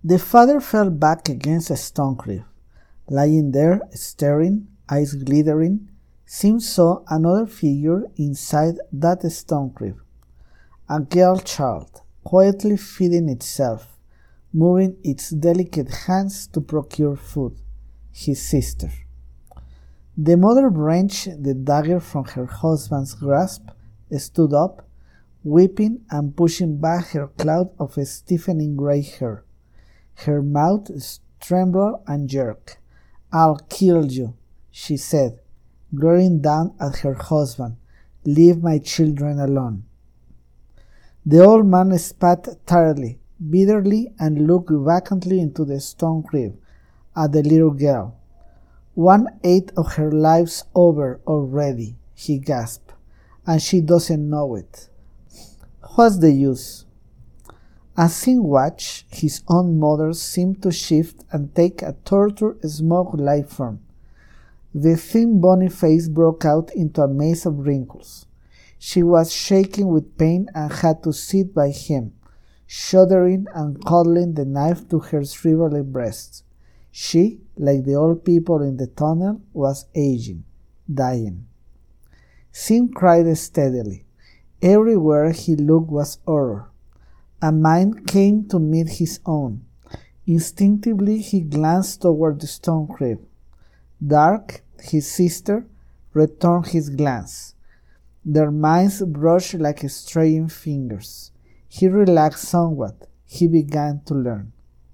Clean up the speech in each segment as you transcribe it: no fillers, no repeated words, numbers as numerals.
The father fell back against a stone cliff. Lying there, staring, eyes glittering, Sim saw another figure inside that stone cliff. A girl child, quietly feeding itself, moving its delicate hands to procure food. His sister. The mother wrenched the dagger from her husband's grasp, stood up, weeping and pushing back her cloud of stiffening gray hair. Her mouth trembled and jerked. "I'll kill you," she said, glaring down at her husband. "Leave my children alone." The old man spat tiredly, bitterly, and looked vacantly into the stone cliff at the little girl. "1/8 of her life's over already," he gasped, "and she doesn't know it. What's the use?" As Sim watched, his own mother seemed to shift and take a tortured, smoke-like form. The thin bony face broke out into a maze of wrinkles. She was shaking with pain and had to sit by him, shuddering and cuddling the knife to her shriveled breast. She, like the old people in the tunnel, was aging, dying. Sim cried steadily. Everywhere he looked was horror. A mind came to meet his own. Instinctively he glanced toward the stone cliff. Dark, his sister, returned his glance. Their minds brushed like straying fingers. He relaxed somewhat. He began to learn.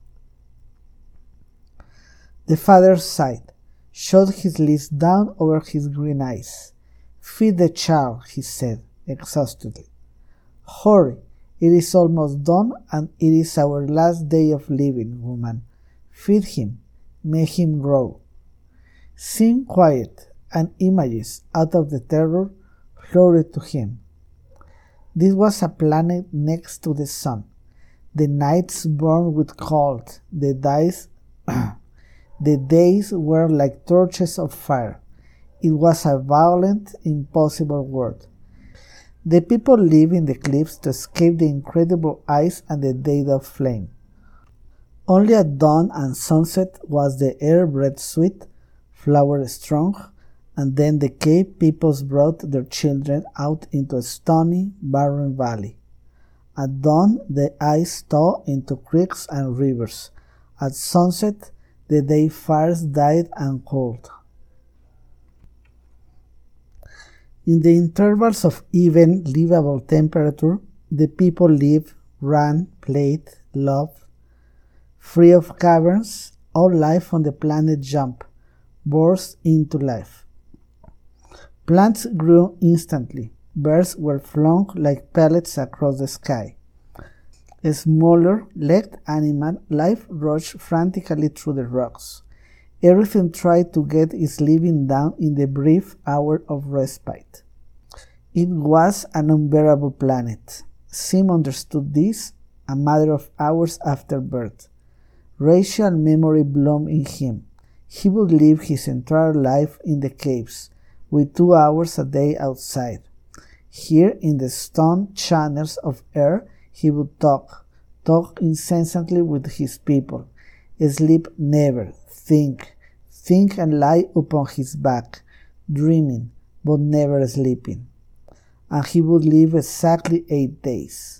The father sighed, shut his lids down over his green eyes. "Feed the child," he said, exhaustedly. "Hurry, it is almost done, and it is our last day of living, woman. Feed him, make him grow." Sim quiet, and images out of the terror floated to him. This was a planet next to the sun. The nights burned with cold, the days were like torches of fire. It was a violent, impossible world. The people lived in the cliffs to escape the incredible ice and the death of flame. Only at dawn and sunset was the air breath sweet, flower strong, and then the cave peoples brought their children out into a stony, barren valley. At dawn the ice thawed into creeks and rivers. At sunset the day fires died and cooled. In the intervals of even, livable temperature, the people lived, ran, played, loved. Free of caverns, all life on the planet jumped, burst into life. Plants grew instantly. Birds were flung like pellets across the sky. A smaller, legged animal life rushed frantically through the rocks. Everything tried to get its living down in the brief hour of respite. It was an unbearable planet. Sim understood this a matter of hours after birth. Racial memory bloomed in him. He would live his entire life in the caves, with 2 hours a day outside. Here in the stone channels of air he would talk incessantly with his people, sleep never, think and lie upon his back, dreaming, but never sleeping. And he would live exactly 8 days.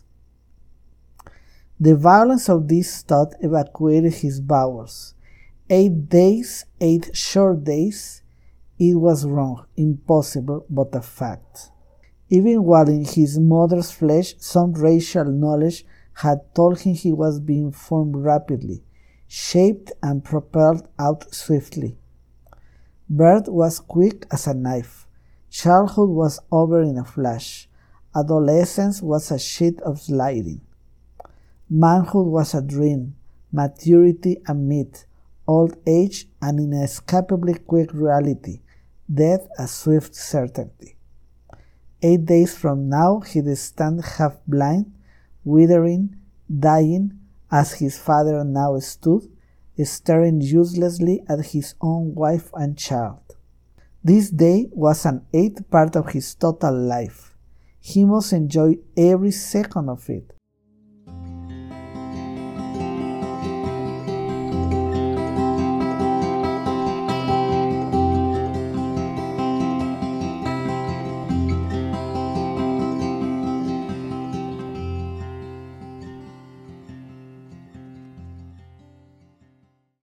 The violence of this thought evacuated his bowels. 8 days, 8 short days. It was wrong, impossible, but a fact. Even while in his mother's flesh, some racial knowledge had told him he was being formed rapidly, shaped and propelled out swiftly. Birth was quick as a knife. Childhood was over in a flash. Adolescence was a sheet of lightning. Manhood was a dream, maturity a myth, old age an inescapably quick reality, death a swift certainty. 8 days from now he'd stand half blind, withering, dying, as his father now stood, staring uselessly at his own wife and child. This day was an 8th part of his total life. He must enjoy every second of it.